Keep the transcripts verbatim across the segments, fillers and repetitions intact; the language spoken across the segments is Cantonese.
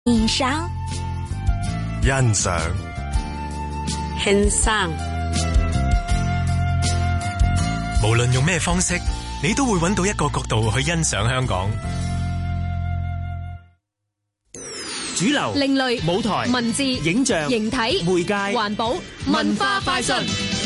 欣賞、 欣賞、 欣賞。 無論用咩方式，你都會揾到一個角度去欣賞香港。 主流、 另類、 舞台、 文字、 影像、 形體、 媒介、 環保、文化快訊。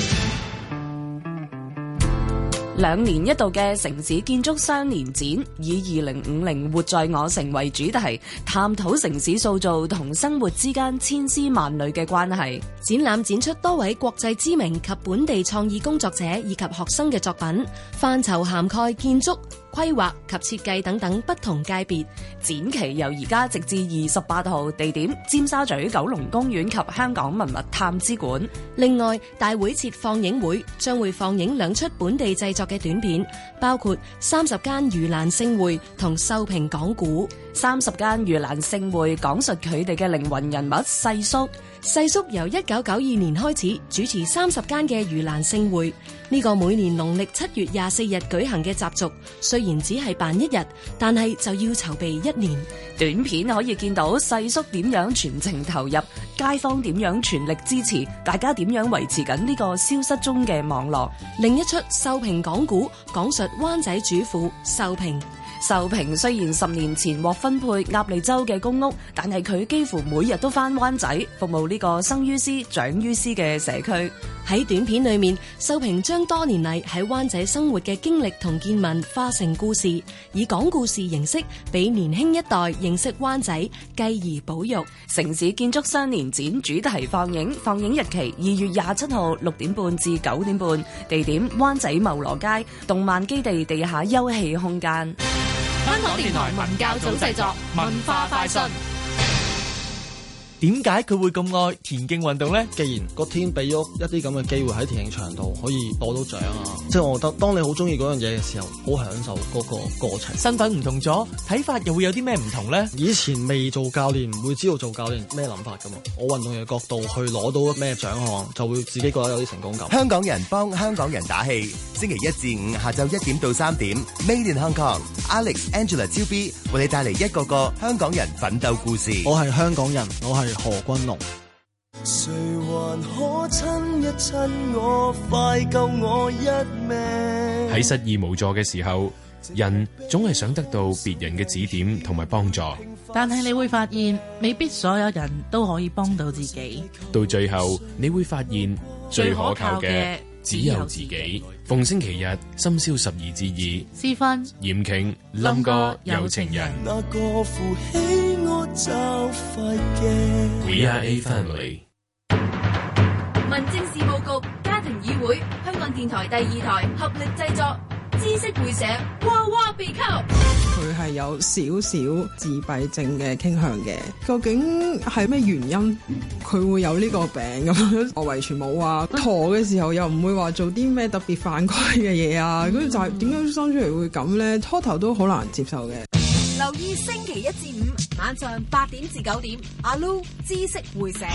兩年一度嘅城市建築雙年展，以二零五零活在我城為主題，探討城市塑造同生活之間千絲萬縷嘅關係。 展覽展出多位國際知名及本地創意工作者以及學生嘅作品，範疇涵蓋建築、規劃及設計等等不同界別。展期由而家直至二十八號，地點尖沙咀九龍公園及香港文物探知館。另外，大會設放映會，將會放映兩出本地製作嘅短片，包括三十間盂蘭勝會同秀萍講古。 三十間盂蘭勝會講述佢哋嘅靈魂人物細叔。 細叔由一九九二年開始主持三十間嘅盂蘭勝會，呢個每年農曆七月廿四日舉行嘅習俗，雖然只係辦一日，但係就要籌備一年。 短片可以見到細叔點樣全程投入，街坊點樣全力支持，大家點樣維持緊呢個消失中嘅網絡。 另一出秀萍講古，講述灣仔主婦秀萍。 秀萍雖然十年前獲分配鴨脷洲嘅公屋，但係佢幾乎每日都返灣仔服務呢個生於斯長於斯嘅社區。 喺短片裏面，秀萍將多年嚟喺灣仔生活嘅經歷同見聞化成故事，以講故事形式俾年輕一代認識灣仔，繼而保育。 城市建築雙年展主題放映，放映日期二月廿七號六點半至九點半，地點灣仔茂羅街動漫基地地下休憩空間。 香港電台文教組製作，文化快訊。 點解佢會咁愛田徑運動呢？ 既然個天俾咗一啲咁嘅機會喺田徑場度可以攞到獎啊，即係我覺得當你好中意嗰樣嘢嘅時候，好享受嗰個過程。 身份唔同咗，睇法又會有啲咩唔同呢？ 以前未做教練唔會知道做教練咩諗法噶嘛，我運動員嘅角度去攞到咩獎項，就會自己覺得有啲成功感。 香港人幫香港人打氣，星期一至五下晝一點到三點 Made in Hong Kong Alex Angela 超 B 為你帶嚟一個個香港人奮鬥故事。 我係香港人，我係何君龍。 誰還可親一親我，快救我一命。 喺失意無助嘅時候，人總係想得到別人嘅指點同埋幫助， 但係你會發現未必所有人都可以幫到自己。 到最後你會發現最可靠嘅只有自己。逢星期日深宵十二至二， 私分嚴瓊冧哥有情人。 那個扶起我就快嘅 We are a family。 民政事務局家庭議會，香港電台第二台合力製作，知識會社娃娃秘笈。 佢係有少少自閉症嘅傾向嘅，究竟係咩原因佢會有呢個病咁樣？我遺傳冇啊，陀嘅時候又唔會話做啲咩特別犯規嘅嘢啊，咁就係點解生出嚟會咁咧？初頭都好難接受嘅。 留意星期一至五晚上八點至九點，阿 Lu 知識會社。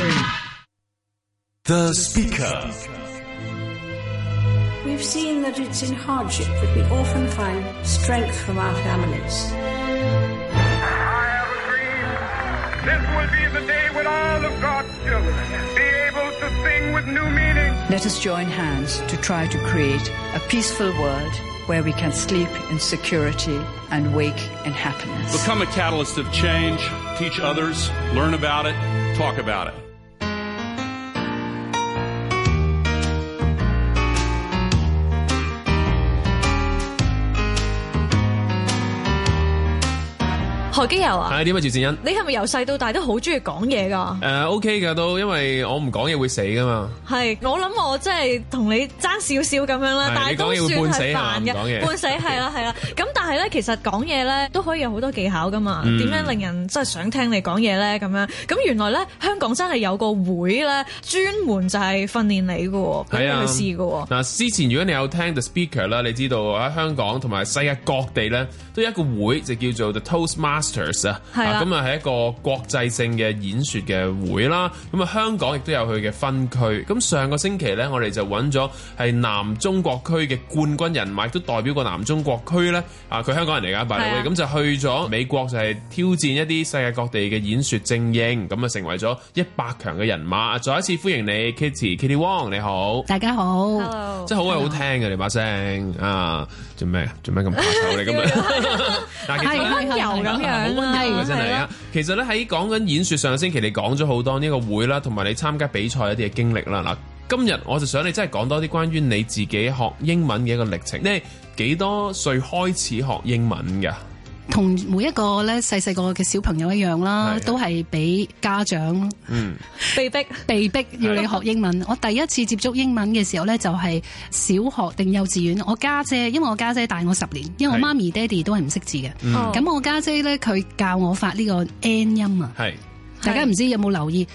The Speaker。 We've seen that it's in hardship that we often find strength from our families. I have a dream. This will be the day when all of God's children be able to sing with new meaning. Let us join hands to try to create a peaceful world where we can sleep in security and wake in happiness. Become a catalyst of change, teach others, learn about it, talk about it. 何基佑啊， 係點啊？趙善恩， 你係咪由細到大都好中意講嘢噶？ 誒、uh, OK 噶都，因為我唔講嘢會死噶嘛。 係，我諗我真係同你爭少少咁樣啦，但係都算係煩嘅，半死係啦係啦。咁但係咧，其實講嘢咧都可以有好多技巧噶嘛。點、嗯、樣令人真係想聽你講嘢咧？咁樣咁原來咧香港真係有個會咧，專門就係訓練你嘅，俾你去試嘅。 嗱，之前如果你有聽 The Speaker 啦，你知道喺香港同埋世界各地咧都有一個會，就叫做 The Toastmasters。 Masters 啊， 係啦， 咁啊係一個國際性嘅演說嘅會啦。咁啊香港亦都有佢嘅分區。咁上個星期咧，我哋就揾咗係南中國區嘅冠軍人馬，亦都代表過南中國區咧。啊，佢香港人嚟㗎，by the way，咁就去咗美國，就係挑戰一啲世界各地嘅演說精英，咁啊成為咗一百強嘅人馬。再一次歡迎你 Kitty Kitty Wong，你好， 大家好， 真係好鬼好聽嘅你把聲啊！做咩啊？做咩咁怕醜你咁樣？但係溫柔咁樣， 好溫柔嘅真係啊！其實咧喺講緊演說，上個星期你講咗好多呢個會啦，同埋你參加比賽一啲嘅經歷啦。嗱，今日我就想你真係講多啲關於你自己學英文嘅一個歷程。你幾多歲開始學英文㗎？ 同每一個咧細細個嘅小朋友一樣啦，都係俾家長嗯被逼被逼要你學英文。我第一次接觸英文嘅時候咧，就係小學定幼稚園。我家姐，因為我家姐大我十年，因為我媽咪爹哋都係唔識字嘅。咁、嗯、我家姐咧，佢教我發呢個 N 音啊。係，大家唔知有冇留意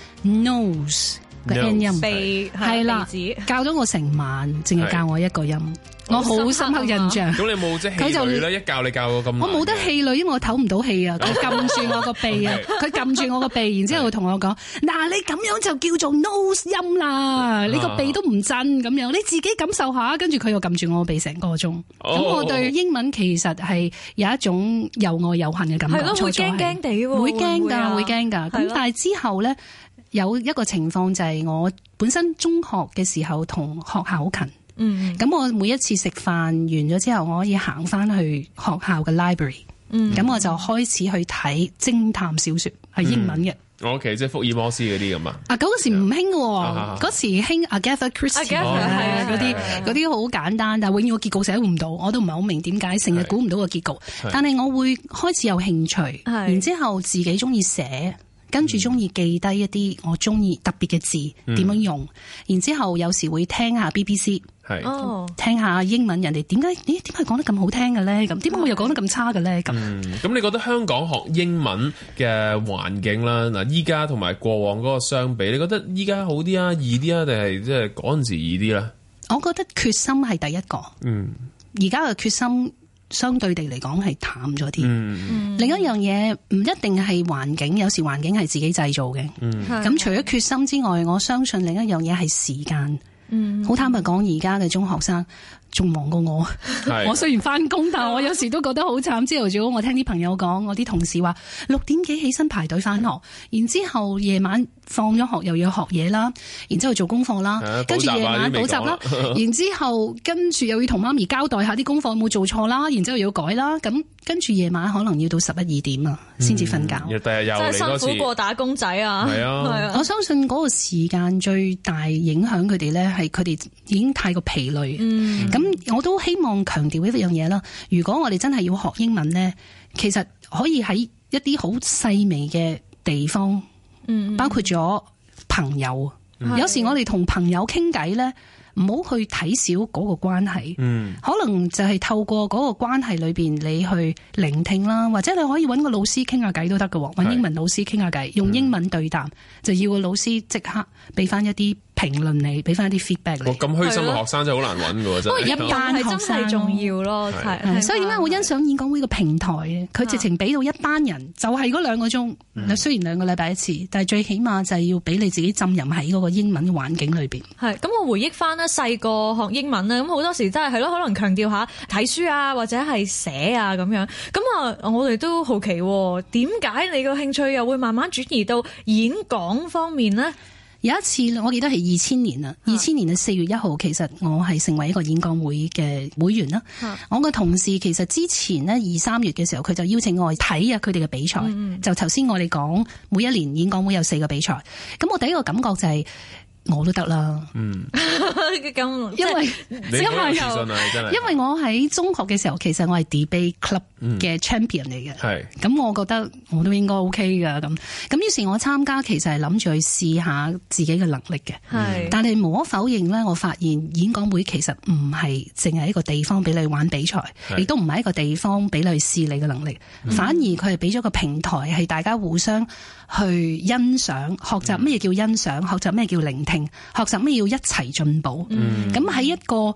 nose 嘅 N 音？鼻係啦，教咗我成晚，淨係教我一個音。我好深刻印象。咁你冇即係氣餒咧？一教你教到咁，我冇得氣餒，因為我唞唔到氣啊！佢撳住我個鼻啊，佢撳住我個鼻，然之後同我講：嗱，你咁樣就叫做 nose 音啦，你個鼻都唔震咁樣，你自己感受下。跟住佢又撳住我個鼻成個鐘。咁我對英文其實係有一種又愛又恨嘅感覺。係咯，會驚驚地喎，會驚㗎，會驚㗎。咁但係之後咧，有一個情況就係我本身中學嘅時候同學校好近。嗯，咁我每一次食飯完咗之後，我可以行翻去學校嘅 library，嗯，咁我就開始去睇偵探小說，係英文嘅。 O K，即係福爾摩斯嗰啲咁啊。啊， 嗰時唔興嘅，嗰時興 Agatha Christie 係啊，嗰啲嗰啲好簡單，但係永遠個結局寫唔到，我都唔係好明點解，成日估唔到個結局。但係我會開始有興趣，然之後自己中意寫。跟住中意記低一啲我中意特別嘅字點樣用，嗯、然之後有時會聽下 B B C， 係聽下英文人哋點解咦點解講得咁好聽嘅咧？咁點解我又講得咁差嘅咧？咁咁、嗯、 你覺得香港學英文嘅環境啦，嗱依家同埋過往嗰個相比，你覺得依家好啲啊，易啲啊，定係即係嗰陣時易啲咧？ 我覺得決心係第一個，嗯，而家嘅決心。相對地嚟講係淡咗啲。嗯、另一樣嘢唔一定係環境，有時環境係自己製造嘅。咁、嗯、除咗決心之外，我相信另一樣嘢係時間。好、嗯、坦白講，而家嘅中學生仲忙過我。我雖然翻工，但我有時都覺得好慘。朝頭早我聽啲朋友講，我啲同事話六點幾起身排隊翻學，然之後夜晚放咗學又要學嘢啦，然之後做功課啦，跟住夜晚補習啦，然之後跟住又要同媽咪交代下啲功課有冇做錯啦，然之後要改啦，咁跟住夜晚可能要到十一二點啊，先至瞓覺。第日又嚟多次，真係辛苦過打工仔啊！係啊，係啊，我相信嗰個時間最大影響佢哋咧，係佢哋已經太過疲累。嗯，咁我都希望強調一樣嘢啦。如果我哋真係要學英文咧，其實可以喺一啲好細微嘅地方。嗯，包括咗朋友，嗯、有時我哋同朋友傾偈咧，唔好去睇小嗰個關係。嗯，可能就係透過嗰個關係裏邊，你去聆聽啦，或者你可以揾個老師傾下偈都得㗎，揾英文老師傾下偈，用英文對答，嗯、就要個老師即刻俾翻一啲評論你，俾翻一啲 feedback 你。咁虛心嘅學生真係好難揾㗎，真係。不過一班學生係重要咯，係。所以點解我欣賞演講會個平台咧？佢直情俾到一班人，就係嗰兩個鐘。嗯、雖然兩個禮拜一次，但係最起碼就係要俾你自己浸淫喺嗰個英文嘅環境裏邊。係。咁我回憶翻咧，細個學英文咧，咁好多時真係係咯，可能強調下睇書啊，或者係寫啊咁樣。咁啊，我哋都好奇點解你個興趣又會慢慢轉移到演講方面呢？有一次我記得係二千年啦，二千年嘅四月一號，其實我係成為一個演講會嘅會員啦。啊、我個同事其實之前呢，二三月嘅時候，佢就邀請我去睇啊佢哋嘅比賽。嗯、就頭先我哋講每一年演講會有四個比賽，咁我第一個感覺就係、是。我都得啦，嗯，咁因為因為因為我喺中學嘅時候，其實我係 debate club 嘅 champion 嚟嘅，係、嗯，咁我覺得我都應該 OK 噶，咁，咁於是我參加其實係諗住去試下自己嘅能力嘅，係，但係無可否認咧，我發現演講會其實唔係淨係一個地方俾你玩比賽，亦都唔係一個地方俾你去試你嘅能力，嗯、反而佢係俾咗個平台，係大家互相去欣賞、學習咩叫欣賞，學習咩叫聆聽。學習咩要一齊進步，咁喺、嗯、一個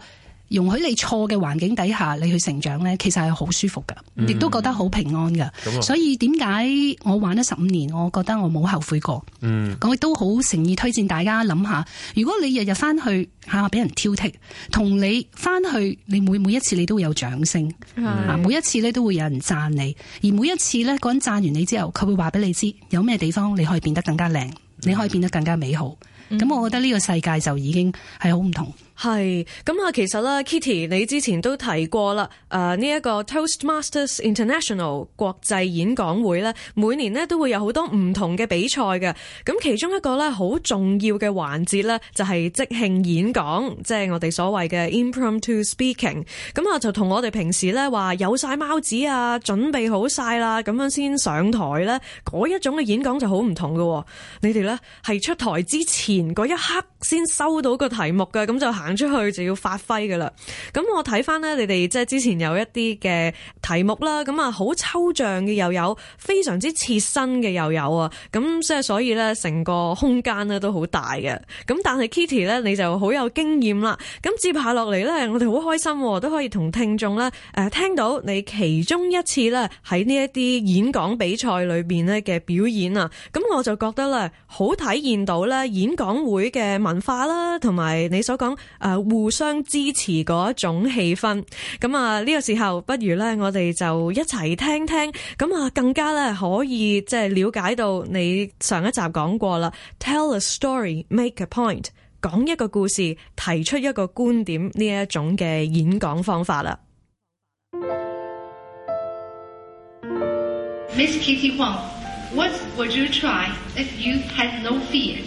容許你錯嘅環境底下你去成長咧，其實係好舒服噶，亦、嗯、都覺得好平安噶。嗯、所以點解我玩咗十五年，我覺得我冇後悔過。嗯，我亦都好誠意推薦大家諗下，如果你日日翻去吓俾人挑剔，同你翻去你每每一次你都會有掌聲，嗯、每一次咧都會有人讚你，而每一次咧嗰人讚完你之後，佢會話俾你知有咩地方你可以變得更加靚，嗯、你可以變得更加美好。咁、嗯、我覺得呢個世界就已經係好唔同。 係咁啊，其實咧 Kitty 你之前都提過啦，誒呢一個 Toastmasters International 國際演講會咧，每年咧都會有好多唔同嘅比賽嘅。咁其中一個咧好重要嘅環節咧，就係即興演講，即係我哋所謂嘅 impromptu speaking。咁啊就同我哋平時咧話有晒貓紙啊，準備好晒啦，咁樣先上台咧，嗰一種嘅演講就好唔同嘅。你哋咧係出台之前嗰一刻先收到個題目嘅，咁就行出去就要發揮噶啦。咁我睇翻咧，你哋即係之前有一啲嘅題目啦，咁啊好抽象嘅又有，非常之切身嘅又有啊。咁即係所以咧，成個空間咧都好大嘅。咁但係 Kitty 咧，你就好有經驗啦。咁接下落嚟咧，我哋好開心都可以同聽眾咧誒聽到你其中一次咧喺呢一啲演講比賽裏邊咧嘅表演啊。咁我就覺得咧好體現到咧演講會嘅文化啦，同埋你所講誒互相支持嗰一種氣氛。咁啊呢個時候，不如咧我哋就一齊聽聽，咁啊更加咧可以即係了解到你上一集講過啦 ，Tell a story, make a point， 講一個故事，提出一個觀點呢一種嘅演講方法啦。 Miss Kitty Wong, what would you try if you had no fear?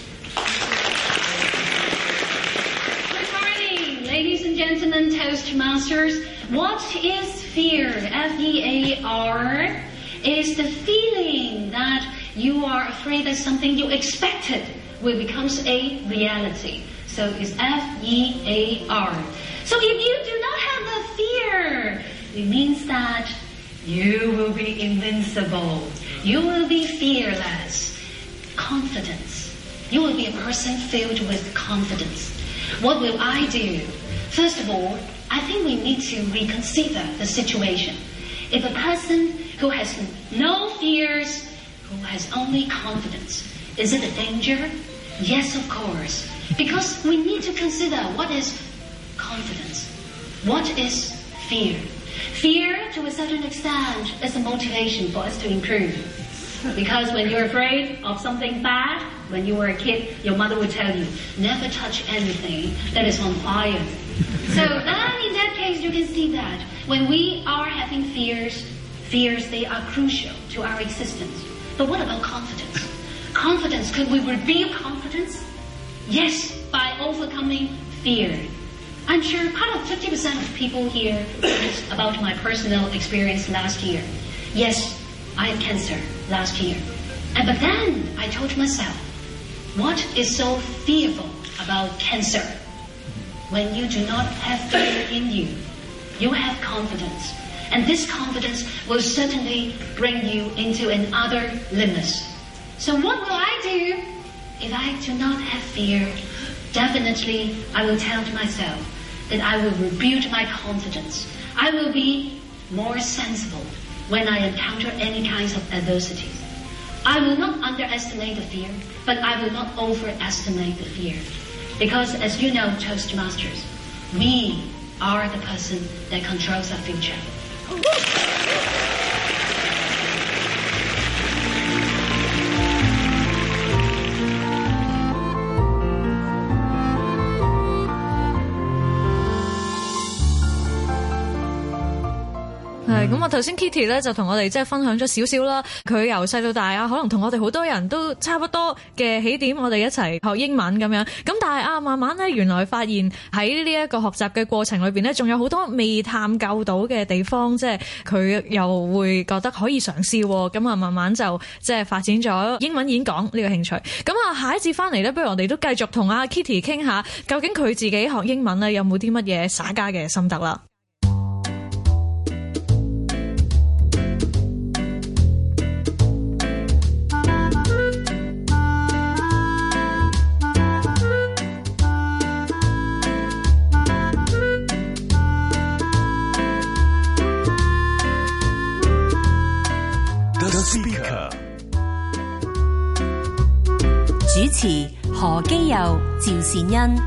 Ladies and gentlemen, Toastmasters, what is fear? F E A R is the feeling that you are afraid that something you expected will become a reality. So it's F E A R. So if you do not have the fear, it means that you will be invincible. You will be fearless. Confidence. You will be a person filled with confidence. What will I do? First of all, I think we need to reconsider the situation. If a person who has no fears, who has only confidence, is it a danger? Yes, of course. Because we need to consider what is confidence. What is fear? Fear, to a certain extent, is a motivation for us to improve. Because when you're afraid of something bad, when you were a kid, your mother would tell you, never touch anything that is on fire. So uh, in that case, you can see that when we are having fears, fears, they are crucial to our existence. But what about confidence? Confidence, could we rebuild confidence? Yes, by overcoming fear. I'm sure part of fifty percent of people here is about my personal experience last year. Yes, I had cancer last year. And but then I told myself, what is so fearful about cancer? When you do not have fear in you, you have confidence. And this confidence will certainly bring you into another limits. So what will I do if I do not have fear? Definitely, I will tell to myself that I will rebuild my confidence. I will be more sensible when I encounter any kinds of adversities. I will not underestimate the fear, but I will not overestimate the fear. Because as you know, Toastmasters, we are the person that controls our future. 係咁啊！頭先 Kitty 咧就同我哋即係分享咗少少啦。佢由細到大啊，可能同我哋好多人都差不多嘅起點，我哋一齊學英文咁樣。咁但係啊，慢慢咧原來發現喺呢一個學習嘅過程裏邊咧，仲有好多未探究到嘅地方，即係佢又會覺得可以嘗試。咁啊，慢慢就即係發展咗英文演講呢個興趣。咁啊，下一節翻嚟咧，不如我哋都繼續同阿 Kitty 傾下，究竟佢自己學英文咧有冇啲乜嘢耍家嘅心得啦？ 主持何基佑、趙善恩。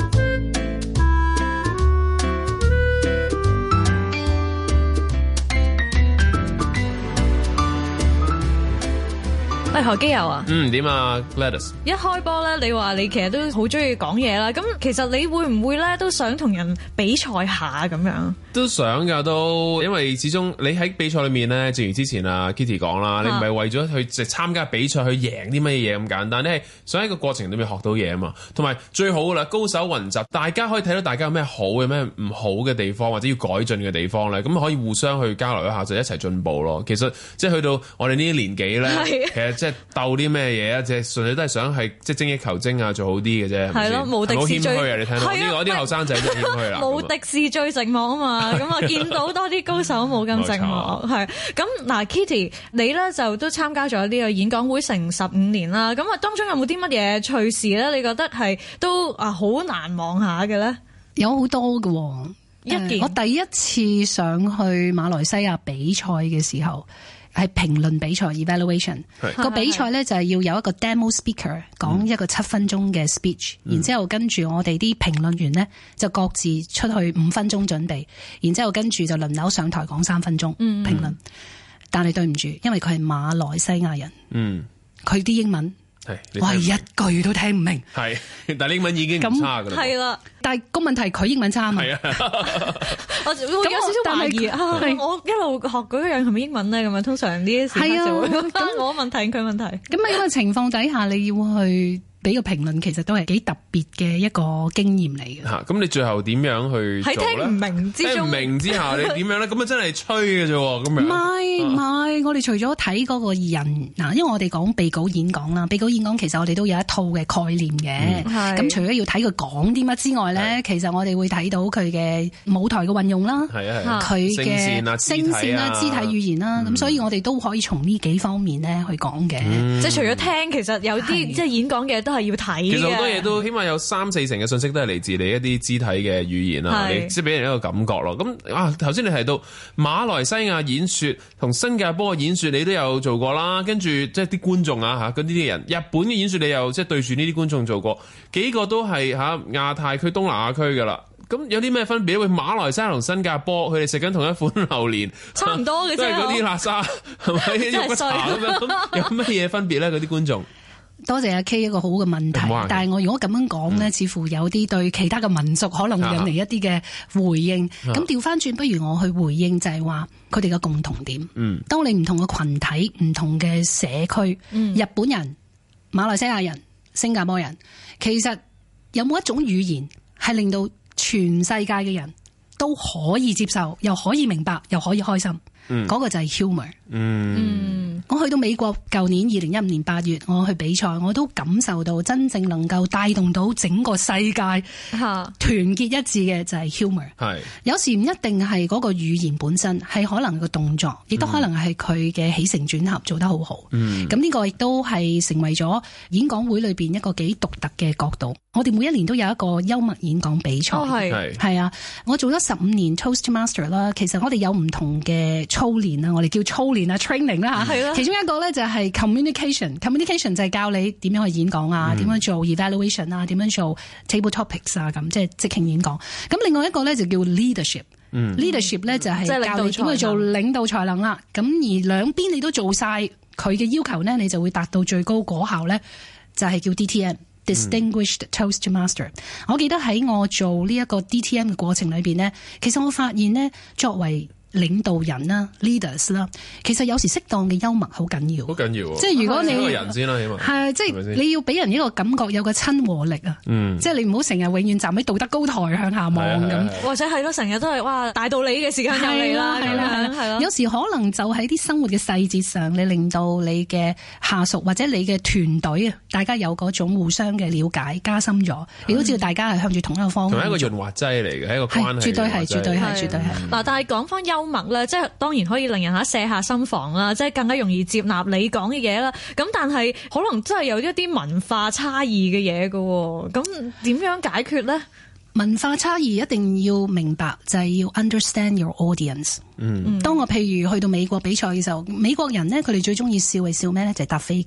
喂，何基佑啊， 嗯，點啊 Gladys？ 一開波咧，你話你其實都好中意講嘢啦，咁其實你會唔會咧都想同人比賽下咁樣？ 都想噶，都因為始終你喺比賽裏面咧，正如之前啊 Kitty 講啦，你唔係為咗去即係參加比賽去贏啲乜嘢咁簡單，你係想喺個過程裏面學到嘢啊嘛。同埋最好噶啦，高手雲集，大家可以睇到大家有咩好嘅咩唔好嘅地方，或者要改進嘅地方咧，咁可以互相去交流一下，就一齊進步咯。其實即係去到我哋呢啲年紀咧，其實即係鬥啲咩嘢啊，即係純粹都係想係即係精益求精啊，做好啲嘅啫。係咯，無敵是最，好謙虛啊！你聽到呢個啲後生仔真係謙虛啦。 無敵是最寂寞啊嘛，咁啊見到多啲高手冇咁寂寞，係咁嗱。Kitty 你咧就都參加咗呢個演講會成十五年啦，咁啊當中有冇啲乜嘢趣事咧？你覺得係都啊好難忘下嘅咧？ 有好多嘅、哦，一件、呃、我第一次上去馬來西亞比賽嘅時候。係評論比賽 evaluation 個比賽咧就係要有一個 demo speaker 講一個七分鐘嘅 speech，、嗯、然之後跟住我哋啲評論員咧就各自出去五分鐘準備，然之後跟住就輪流上台講三分鐘評論。但係對唔住，因為佢係馬來西亞人，嗯，佢啲英文我係一句都聽唔明，係， 但係英文已經唔差噶啦， 係啦。 但係個問題佢英文差啊嘛， 我會有少少懷疑啊！我一路學嗰樣係咪英文咧？咁樣通常呢啲時刻就會咁我問題佢問題。 咁喺咁嘅情況底下，你要去俾個評論，其實都係幾特別嘅一個經驗嚟嘅。 嚇！咁你最後點樣去做咧？ 喺聽唔明之中， 聽唔明之下，你點樣咧？咁啊真係吹嘅啫喎！咁樣唔係唔係，我哋除咗睇嗰個人嗱，因為我哋講備稿演講啦，備稿演講其實我哋都有一套嘅概念嘅。咁、嗯、除咗要睇佢講啲乜之外咧，其實我哋會睇到佢嘅舞台嘅運用啦，佢嘅聲線啦、肢體語言啦。咁、嗯、所以我哋都可以從呢幾方面咧去講嘅。 嗯、 即係除咗聽，其實有啲即係演講嘅都係要睇嘅。 其實好多嘢都起碼有三四成嘅信息都係嚟自你一啲肢體嘅語言啦，你即係俾人一個感覺咯。咁啊頭先你提到馬來西亞演說同新加坡嘅演說，你都有做過啦。跟住即係啲觀眾啊嚇，嗰啲啲人日本嘅演說你又即係對住呢啲觀眾做過，幾個都係嚇亞太區、東南亞區㗎啦。咁有啲咩分別咧？喂，馬來西亞同新加坡，佢哋食緊同一款榴蓮， 差唔多嘅啫， 都係嗰啲辣沙，係咪肉骨茶咁樣？咁有乜嘢分別咧？嗰啲觀眾？ 多謝阿 K 一個好嘅問題，但係我如果咁樣講呢、嗯，似乎有啲對其他嘅民族可能會引嚟一啲嘅回應。咁調翻轉，不如我去回應就係話佢哋嘅共同點。嗯，當你唔同嘅群體、唔同嘅社區、嗯，日本人、馬來西亞人、新加坡人，其實有冇一種語言係令到全世界嘅人都可以接受，又可以明白，又可以開心？嗯，嗰、嗰個就係 humor。嗯，我去到美國，舊年二零一五年八月，我去比賽，我都感受到真正能夠帶動到整個世界團結一致嘅就係 humor。係有時唔一定係嗰個語言本身，係可能個動作，亦都可能係佢嘅起承轉合做得好好。嗯，咁呢個亦都係成為咗演講會裏邊一個幾獨特嘅角度。我哋每一年都有一個幽默演講比賽。哦，係係啊，我做咗十五年 Toastmaster 啦。其實我哋有唔同嘅操練啊，我哋叫操練啊 training 啦嚇。係啦。其中一個咧就係 communication，communication 就係教你點樣去演講啊，點、嗯、樣做 evaluation 啊，點樣做 table topics 啊，咁即係即興演講。咁另外一個咧就叫 leadership。嗯。leadership 咧就係教你點去做領導才能啦。咁而兩邊你都做晒佢嘅要求咧，你就會達到最高果效咧，就係叫 D T M。Distinguished Toastmaster，嗯、我記得喺我做呢一個 D T M 嘅過程裏邊呢，其實我發現呢，作為領導人啦 leaders 啦，其實有時適當嘅幽默好緊要， 好緊要。 即係如果你個人先啦，起碼係即係你要俾人一個感覺，有個親和力啊。嗯，即係你唔好成日永遠站喺道德高台向下望咁， 或者係咯，成日都係哇大道理嘅時間又嚟啦，係啦係啦。有時可能就喺啲生活嘅細節上，你令到你嘅下屬或者你嘅團隊啊，大家有嗰種互相嘅了解加深咗，你都知道大家係向住同一個方向。 同一個潤滑劑嚟嘅，係一個關係。 絕對係，絕對係，絕對係。 嗱，但係講翻幽默咧，即係當然可以令人嚇卸下心防啦，即係更加容易接納你講嘅嘢啦。咁但係可能真係有一啲文化差異嘅嘢嘅，咁點樣解決咧？ 文化差異一定要明白，就係要 understand your audience。嗯，當我譬如去到美國比賽嘅時候，美國人咧佢哋最中意笑係笑咩咧？就係搭飛機。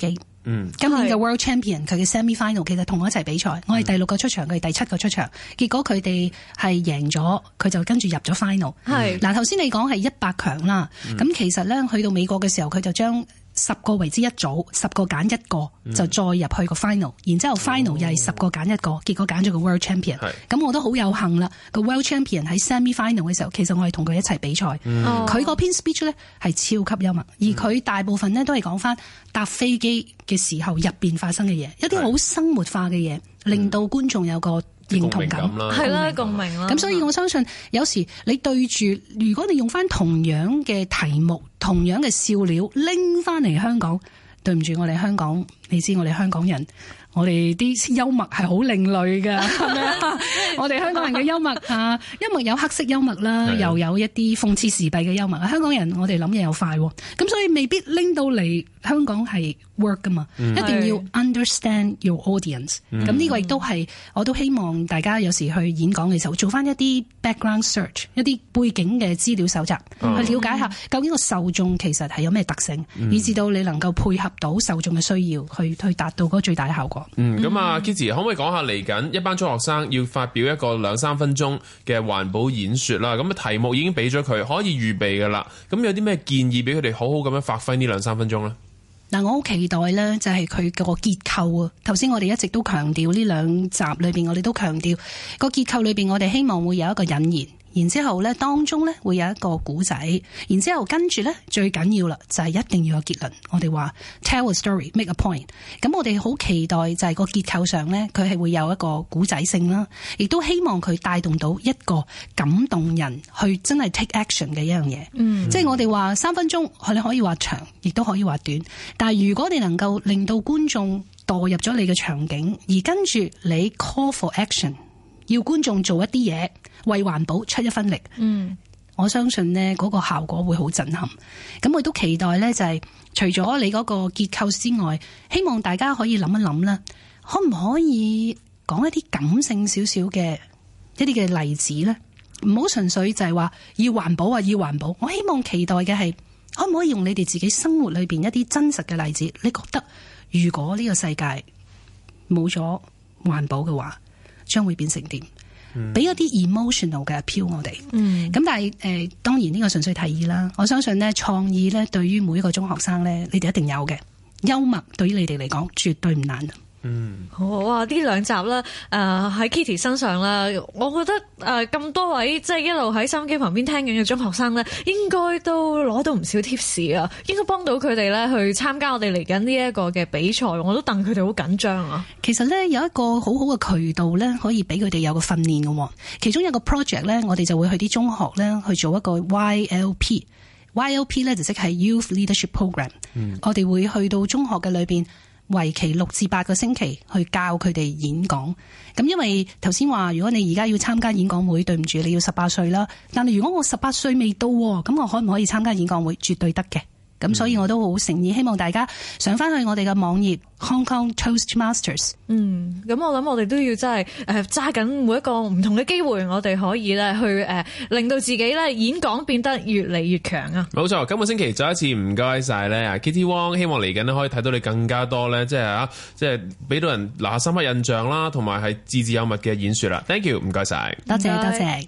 嗯、今年嘅 World Champion 佢嘅 Semi Final 其實同我一齊比賽，我係第六個出場，佢係第七個出場，結果佢哋係贏咗，佢就跟住入咗 Final。係嗱，頭先你講係一百強啦，咁、嗯、其實咧去到美國嘅時候，佢就將十個為之一組，十個揀一個，就再入去個 final，、嗯、然之後 final 又係十個揀一個，結果揀咗個 World Champion。咁我都好有幸啦，個 World Champion 喺 semi final 嘅時候，其實我係同佢一齊比賽。佢嗰篇 speech 咧係超級幽默，而佢大部分咧都係講翻搭飛機嘅時候入邊發生嘅嘢，一啲好生活化嘅嘢，令到觀眾有個認同感， 係啦，共鳴啦。 咁所以我相信有時你對住，如果你用翻同樣嘅題目、同樣嘅笑料拎翻嚟香港，對唔住我哋香港，你知我哋香港人，我哋啲幽默係好另類㗎，係咪啊？我哋香港人嘅幽默啊，幽默有黑色幽默啦，又有一啲諷刺時弊嘅幽默。香港人我哋諗嘢又快，咁所以未必拎到嚟香港係 work 㗎嘛，嗯、一定要 understand your audience。咁呢、嗯、個亦都係，我都希望大家有時去演講嘅時候，做翻一啲 background search， 一啲背景嘅資料搜集，嗯、去了解下究竟個受眾其實係有咩特性，嗯、以至到你能夠配合到受眾嘅需要，去去達到嗰個最大嘅效果。 嗯，咁啊 Kitty 可唔可以講下嚟緊一班中學生要發表一個兩三分鐘嘅環保演說啦？咁啊題目已經俾咗佢，可以預備噶啦。咁有啲咩建議俾佢哋好好咁樣發揮呢兩三分鐘咧？ 嗱，我好期待咧，就係佢個結構啊。頭先我哋一直都強調呢兩集裏邊，我哋都強調個結構裏邊，我哋希望會有一個引言。然之後咧，當中咧會有一個故仔，然之後跟住咧最緊要啦，就係一定要有結論。我哋話 tell a story, make a point。咁我哋好期待就係個結構上咧，佢係會有一個故仔性啦，亦都希望佢帶動到一個感動人去真係 take action 嘅一樣嘢。嗯，即係我哋話三分鐘，你可以話長，亦都可以話短。但係如果你能夠令到觀眾墮入咗你嘅場景，而跟住你 call for action， 要觀眾做一啲嘢。為環保出一分力，嗯，我相信呢嗰個效果會好震撼。咁我都期待呢，就係除咗你嗰個結構之外，希望大家可以諗一諗啦，可唔可以講一啲感性少少嘅一啲嘅例子呢？唔好純粹就係話要環保啊，要環保。我希望期待嘅係，可唔可以用你哋自己生活裏邊一啲真實嘅例子？你覺得如果呢個世界冇咗環保嘅話，將會變成點？俾一啲 emotional 嘅 appeal 我哋，咁、嗯、但係誒、呃，當然呢個純粹提議啦。我相信呢創意咧，對於每一個中學生咧，你哋一定有嘅。幽默對於你哋嚟講，絕對唔難。嗯， 好啊！呢兩集啦，誒、呃、喺 Kitty 身上啦，我覺得誒咁、呃、多位即係一路喺收音機旁邊聽緊嘅中學生咧，應該都攞到唔少 tips 啊，應該幫到佢哋咧去參加我哋嚟緊呢一個嘅比賽。我都戥佢哋好緊張啊！ 其實咧有一個好好嘅渠道咧，可以俾佢哋有個訓練嘅。其中有一個 project 咧，我哋就會去啲中學咧去做一個 Y L P。Y L P 咧就即係 Youth Leadership Program。嗯、我哋會去到中學嘅裏邊。為期六至八個星期去教佢哋演講，咁因為頭先話如果你而家要參加演講會，對唔住你要十八歲啦。但係如果我十八歲未到，咁我可唔可以參加演講會？絕對得嘅。咁所以我都好誠意希望大家上翻去我哋嘅網頁 Hong Kong Toastmasters。 嗯，咁我諗我哋都要真係誒揸緊每一個唔同嘅機會，我哋可以咧去誒、呃、令到自己咧演講變得越嚟越強啊！ 冇錯，今個星期再一次唔該晒咧，Kitty Wong，希望嚟緊咧可以睇到你更加多咧，即係啊，即係俾到人留下深刻印象啦，同埋係字字有物嘅演說啦。Thank you， 唔該晒， 多謝多謝。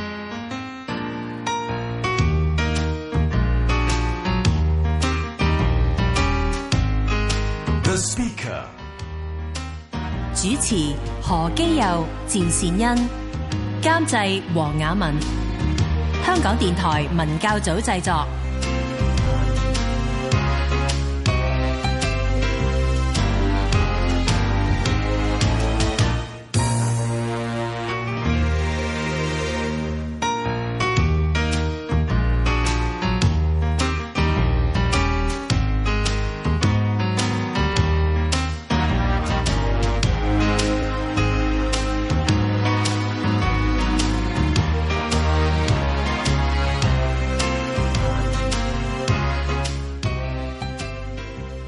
The Speaker 主持何基佑、趙善恩，監製黃雅文，香港電台文教組製作。